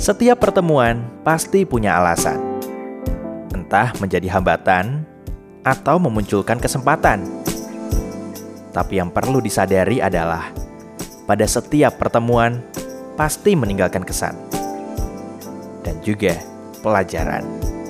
Setiap pertemuan pasti punya alasan. Entah menjadi hambatan atau memunculkan kesempatan. Tapi yang perlu disadari adalah pada setiap pertemuan pasti meninggalkan kesan dan juga pelajaran.